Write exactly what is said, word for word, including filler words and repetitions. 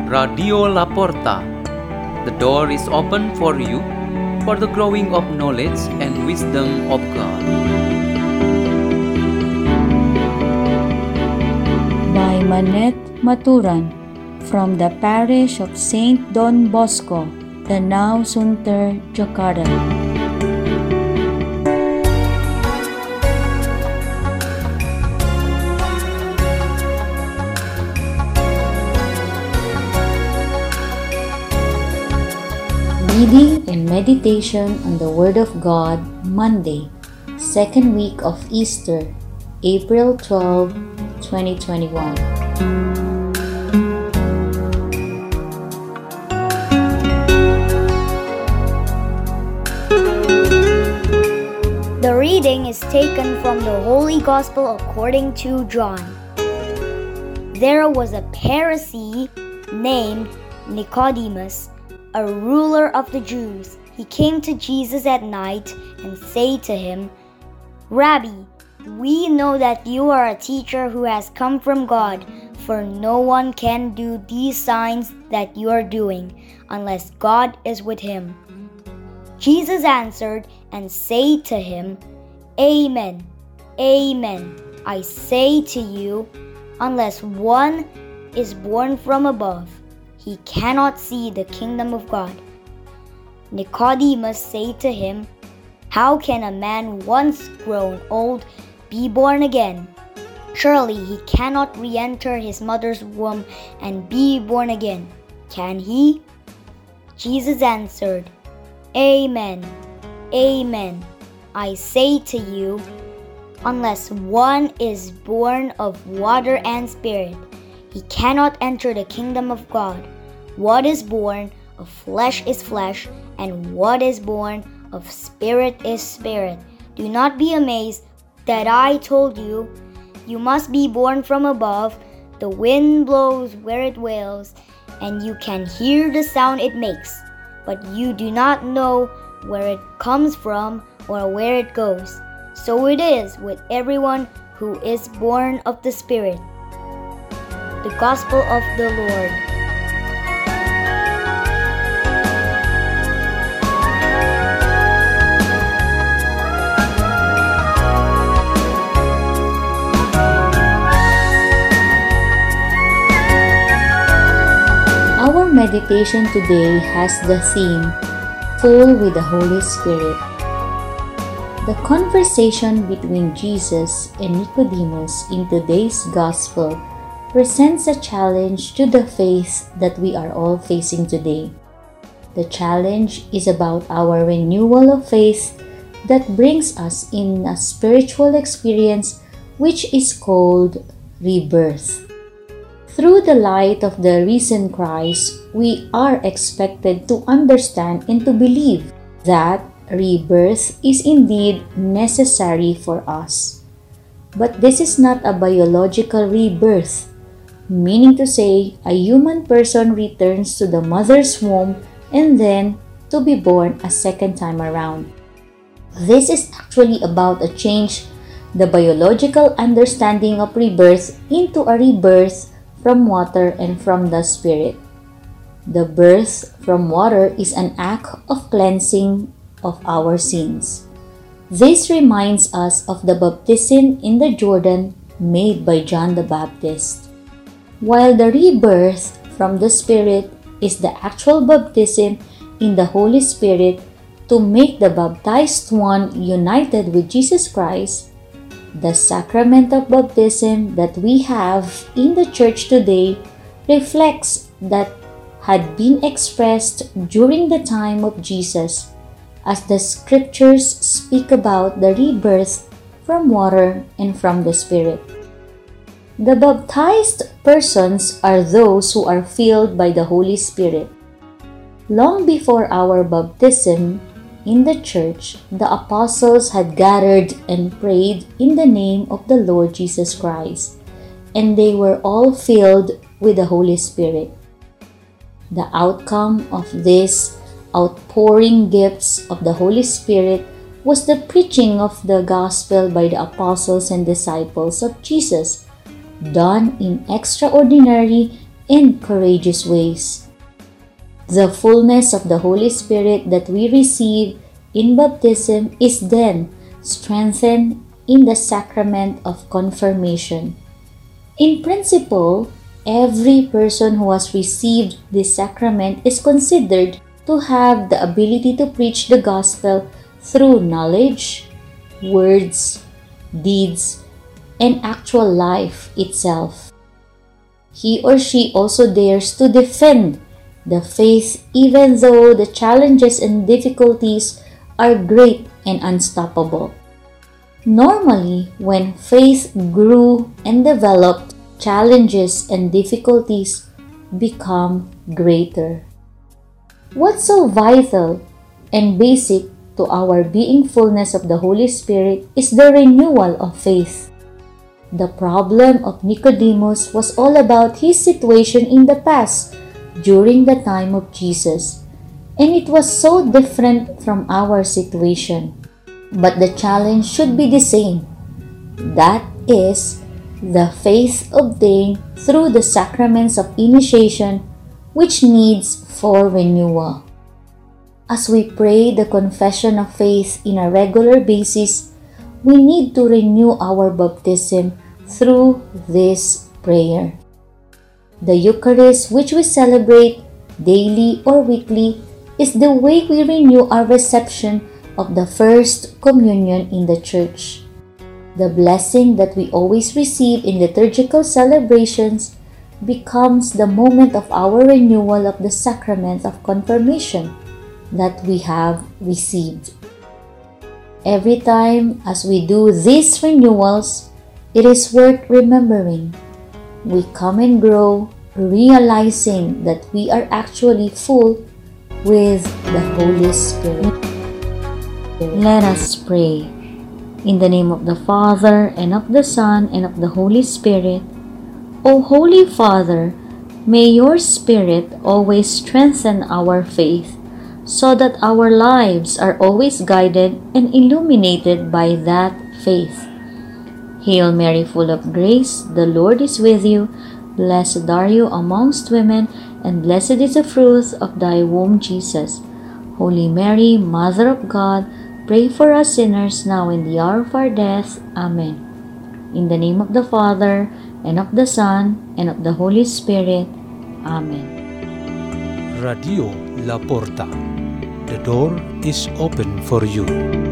Radio Laporta. The door is open for you for the growing of knowledge and wisdom of God. By Manette Maturan, from the parish of Saint Don Bosco, Danau Sunter, Jakarta. Reading and meditation on the Word of God, Monday, second week of Easter, April twelfth, twenty twenty-one. The reading is taken from the Holy Gospel according to John. There was a Pharisee named Nicodemus, a ruler of the Jews. He came to Jesus at night and said to him, "Rabbi, we know that you are a teacher who has come from God, for no one can do these signs that you are doing unless God is with him." Jesus answered and said to him, "Amen, amen, I say to you, unless one is born from above, he cannot see the kingdom of God." Nicodemus said to him, "How can a man once grown old be born again? Surely he cannot re-enter his mother's womb and be born again, can he?" Jesus answered, "Amen, amen, I say to you, unless one is born of water and spirit, he cannot enter the kingdom of God. What is born of flesh is flesh, and what is born of spirit is spirit. Do not be amazed that I told you, you must be born from above. The wind blows where it wills, and you can hear the sound it makes, but you do not know where it comes from or where it goes. So it is with everyone who is born of the Spirit." The Gospel of the Lord. Our meditation today has the theme, Full with the Holy Spirit. The conversation between Jesus and Nicodemus in today's Gospel presents a challenge to the faith that we are all facing today. The challenge is about our renewal of faith that brings us in a spiritual experience which is called rebirth. Through the light of the risen Christ, we are expected to understand and to believe that rebirth is indeed necessary for us. But this is not a biological rebirth, meaning to say a human person returns to the mother's womb and then to be born a second time around. This is actually about a change the biological understanding of rebirth into a rebirth from water and from the Spirit. The birth from water is an act of cleansing of our sins. This reminds us of the baptism in the Jordan made by John the Baptist, while the rebirth from the Spirit is the actual baptism in the Holy Spirit to make the baptized one united with Jesus Christ. The sacrament of baptism that we have in the church today reflects that had been expressed during the time of Jesus, as the scriptures speak about the rebirth from water and from the Spirit. The baptized persons are those who are filled by the Holy Spirit. Long before our baptism in the church, the apostles had gathered and prayed in the name of the Lord Jesus Christ, and they were all filled with the Holy Spirit. The outcome of these outpouring gifts of the Holy Spirit was the preaching of the gospel by the apostles and disciples of Jesus, done in extraordinary and courageous ways. The fullness of the Holy Spirit that we receive in baptism is then strengthened in the sacrament of confirmation. In principle, every person who has received this sacrament is considered to have the ability to preach the gospel through knowledge, words, deeds, and actual life itself. He or she also dares to defend the faith even though the challenges and difficulties are great and unstoppable. Normally, when faith grew and developed, challenges and difficulties become greater. What's so vital and basic to our being fullness of the Holy Spirit is the renewal of faith. The problem of Nicodemus was all about his situation in the past during the time of Jesus, and it was so different from our situation. But the challenge should be the same. That is, the faith obtained through the sacraments of initiation, which needs for renewal. As we pray the confession of faith in a regular basis, we need to renew our baptism through this prayer. The Eucharist, which we celebrate daily or weekly, is the way we renew our reception of the First Communion in the Church. The blessing that we always receive in liturgical celebrations becomes the moment of our renewal of the sacrament of confirmation that we have received. Every time as we do these renewals, it is worth remembering. We come and grow, realizing that we are actually full with the Holy Spirit. Let us pray. In the name of the Father, and of the Son, and of the Holy Spirit. O Holy Father, may your Spirit always strengthen our faith, so that our lives are always guided and illuminated by that faith. Hail Mary, full of grace, the Lord is with you. Blessed are you amongst women, and blessed is the fruit of thy womb, Jesus. Holy Mary, Mother of God, pray for us sinners now and the hour of our death. Amen. In the name of the Father, and of the Son, and of the Holy Spirit. Amen. Radio La Porta. The door is open for you.